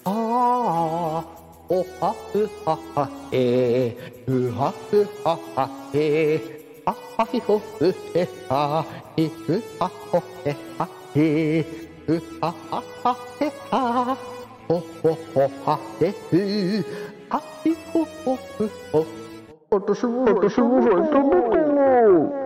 あー、おはふははへ、うはふははへ、ははひほふへは、ひふはほへはへ、ふはははへは、ほほほはへふ、はひほほふほ。 私もさん食べたい。